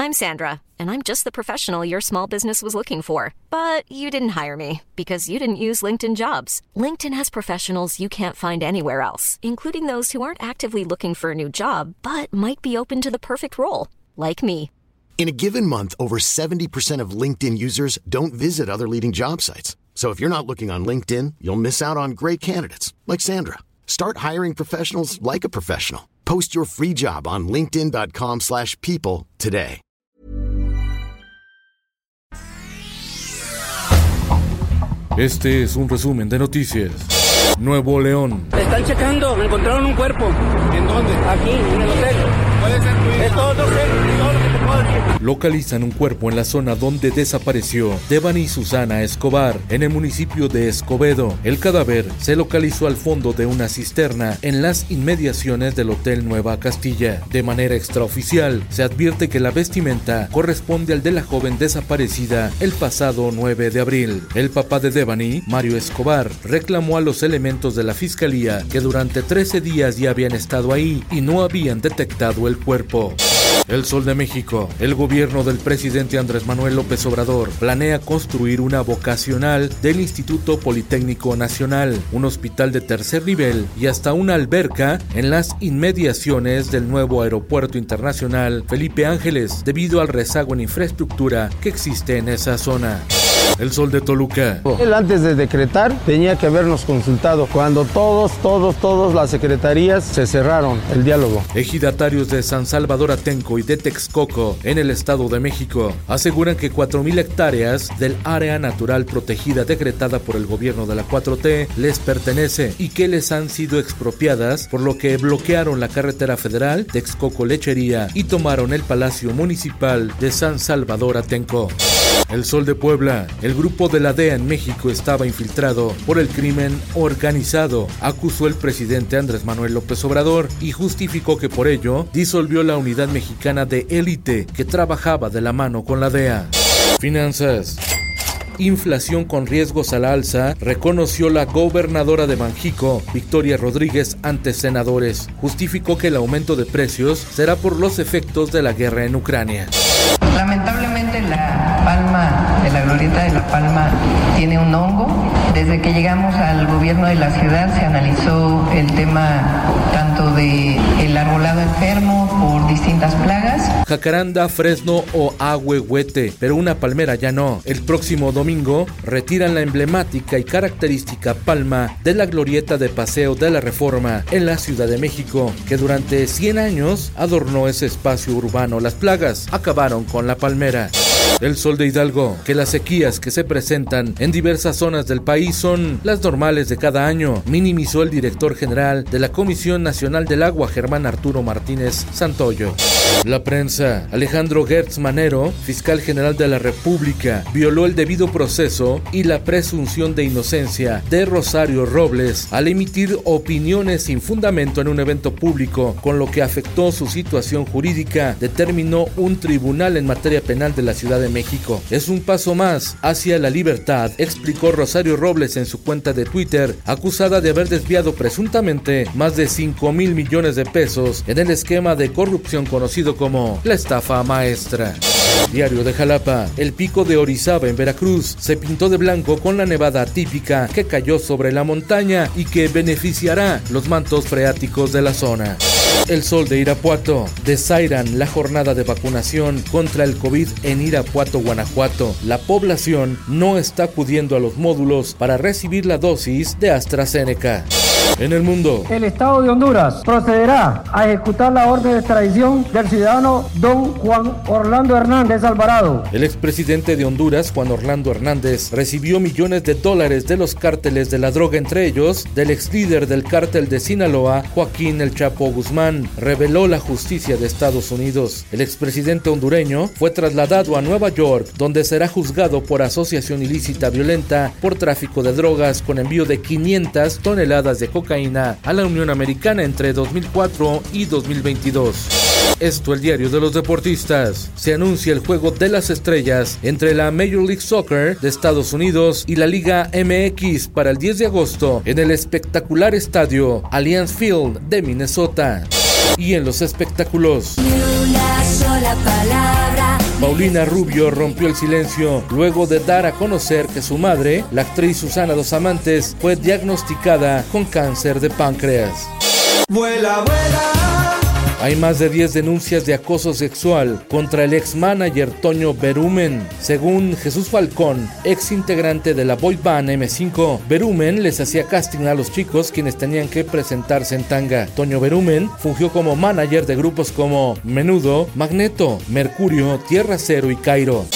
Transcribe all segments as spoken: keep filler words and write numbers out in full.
I'm Sandra, and I'm just the professional your small business was looking for. But you didn't hire me because you didn't use LinkedIn Jobs. LinkedIn has professionals you can't find anywhere else, including those who aren't actively looking for a new job, but might be open to the perfect role, like me. In a given month, over seventy percent of LinkedIn users don't visit other leading job sites. So if you're not looking on LinkedIn, you'll miss out on great candidates like Sandra. Start hiring professionals like a professional. Post your free job on linkedin dot com slash people today. Este es un resumen de noticias. Nuevo León. Están checando, encontraron un cuerpo. ¿En dónde? Aquí, en el hotel. ¿Puede ser tu hija? Es todo, no sé, es todo lo que te puedo decir. Localizan un cuerpo en la zona donde desapareció Devani Susana Escobar, en el municipio de Escobedo. El cadáver se localizó al fondo de una cisterna en las inmediaciones del Hotel Nueva Castilla. De manera extraoficial, se advierte que la vestimenta corresponde al de la joven desaparecida el pasado nueve de abril. El papá de Devani, Mario Escobar, reclamó a los elementos de la fiscalía que durante trece días ya habían estado ahí y no habían detectado el cuerpo. El Sol de México. El gobierno del presidente Andrés Manuel López Obrador planea construir una vocacional del Instituto Politécnico Nacional, un hospital de tercer nivel y hasta una alberca en las inmediaciones del nuevo Aeropuerto Internacional Felipe Ángeles, debido al rezago en infraestructura que existe en esa zona. El Sol de Toluca. Él antes de decretar tenía que habernos consultado. Cuando todos, todos, todos las secretarías se cerraron el diálogo. Ejidatarios de San Salvador Atenco y de Texcoco, en el Estado de México, aseguran que cuatro mil hectáreas del área natural protegida decretada por el gobierno de la cuatro T les pertenece y que les han sido expropiadas, por lo que bloquearon la carretera federal Texcoco-Lechería y tomaron el Palacio Municipal de San Salvador Atenco. El Sol de Puebla. El grupo de la D E A en México estaba infiltrado por el crimen organizado, acusó el presidente Andrés Manuel López Obrador y justificó que por ello disolvió la unidad mexicana de élite que trabajaba de la mano con la D E A. Finanzas. Inflación con riesgos a la alza, reconoció la gobernadora de Banjico, Victoria Rodríguez, ante senadores. Justificó que el aumento de precios será por los efectos de la guerra en Ucrania. Lamentablemente la palma de la glorieta de La Palma tiene un hongo. Desde que llegamos al gobierno de la ciudad se analizó el tema tanto de el arbolado enfermo por distintas plagas. Jacaranda, fresno o ahuehuete, pero una palmera ya no. El próximo domingo retiran la emblemática y característica palma de la glorieta de Paseo de la Reforma en la Ciudad de México, que durante cien años adornó ese espacio urbano. Las plagas acabaron con la palmera. El Sol de Hidalgo, que las sequías que se presentan en diversas zonas del país son las normales de cada año, minimizó el director general de la Comisión Nacional del Agua, Germán Arturo Martínez Santoyo. La Prensa. Alejandro Gertz Manero, fiscal general de la República, violó el debido proceso y la presunción de inocencia de Rosario Robles al emitir opiniones sin fundamento en un evento público, con lo que afectó su situación jurídica, determinó un tribunal en materia penal de la Ciudad de México. Es un paso más hacia la libertad, explicó Rosario Robles en su cuenta de Twitter, acusada de haber desviado presuntamente más de cinco mil millones de pesos en el esquema de corrupción conocido como la estafa maestra. Diario de Jalapa. El pico de Orizaba en Veracruz se pintó de blanco con la nevada atípica que cayó sobre la montaña y que beneficiará los mantos freáticos de la zona. El Sol de Irapuato. Desairan la jornada de vacunación contra el COVID en Irapuato, Guanajuato. La población no está acudiendo a los módulos para recibir la dosis de AstraZeneca. En el mundo. El Estado de Honduras procederá a ejecutar la orden de extradición del ciudadano don Juan Orlando Hernández Alvarado. El expresidente de Honduras, Juan Orlando Hernández, recibió millones de dólares de los cárteles de la droga, entre ellos del ex líder del cártel de Sinaloa, Joaquín El Chapo Guzmán, reveló la justicia de Estados Unidos. El expresidente hondureño fue trasladado a Nueva York, donde será juzgado por asociación ilícita violenta por tráfico de drogas con envío de quinientas toneladas de cocaína a la Unión Americana entre dos mil cuatro y dos mil veintidós. Esto, el diario de los deportistas. Se anuncia el juego de las estrellas entre la Major League Soccer de Estados Unidos y la Liga M X para el diez de agosto en el espectacular estadio Allianz Field de Minnesota. Y en los espectáculos. Ni una sola palabra Paulina Rubio rompió el silencio luego de dar a conocer que su madre, la actriz Susana Dos Amantes, fue diagnosticada con cáncer de páncreas. Vuela, vuela. Hay más de diez denuncias de acoso sexual contra el ex-manager Toño Berumen. Según Jesús Falcón, ex integrante de la boy band eme cinco, Berumen les hacía casting a los chicos quienes tenían que presentarse en tanga. Toño Berumen fungió como manager de grupos como Menudo, Magneto, Mercurio, Tierra Cero y Cairo.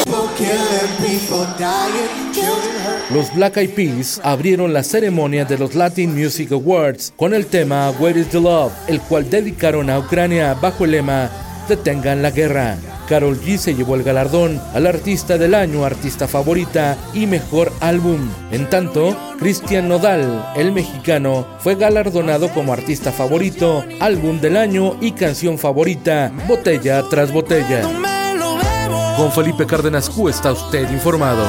Los Black Eyed Peas abrieron la ceremonia de los Latin Music Awards con el tema Where is the Love, el cual dedicaron a Ucrania bajo el lema Detengan la guerra. Karol G se llevó el galardón al Artista del Año, Artista Favorita y Mejor Álbum. En tanto, Cristian Nodal, el mexicano, fue galardonado como Artista Favorito, Álbum del Año y Canción Favorita, Botella tras Botella. Con Felipe Cárdenas Q está usted informado.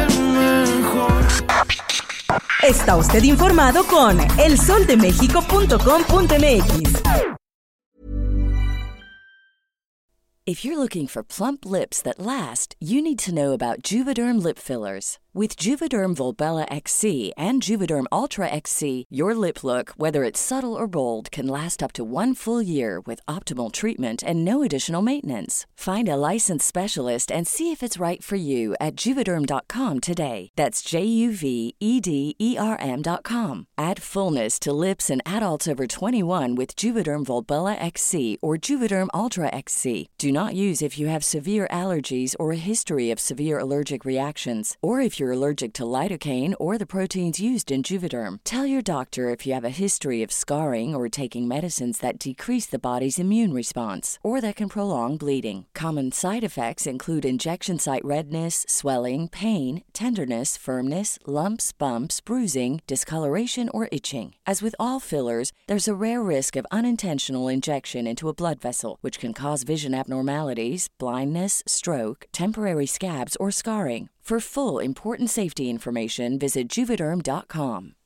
Está usted informado con el sol de méxico punto com punto m x. If you're looking for plump lips that last, you need to know about Juvederm lip fillers. With Juvederm Volbella X C and Juvederm Ultra X C, your lip look, whether it's subtle or bold, can last up to one full year with optimal treatment and no additional maintenance. Find a licensed specialist and see if it's right for you at Juvederm dot com today. That's J U V E D E R M dot com. Add fullness to lips in adults over twenty-one with Juvederm Volbella X C or Juvederm Ultra X C. Do not use if you have severe allergies or a history of severe allergic reactions, or if you're allergic to lidocaine or the proteins used in Juvederm. Tell your doctor if you have a history of scarring or taking medicines that decrease the body's immune response or that can prolong bleeding. Common side effects include injection site redness, swelling, pain, tenderness, firmness, lumps, bumps, bruising, discoloration, or itching. As with all fillers, there's a rare risk of unintentional injection into a blood vessel, which can cause vision abnormalities, blindness, stroke, temporary scabs, or scarring. For full important safety information, visit Juvederm dot com.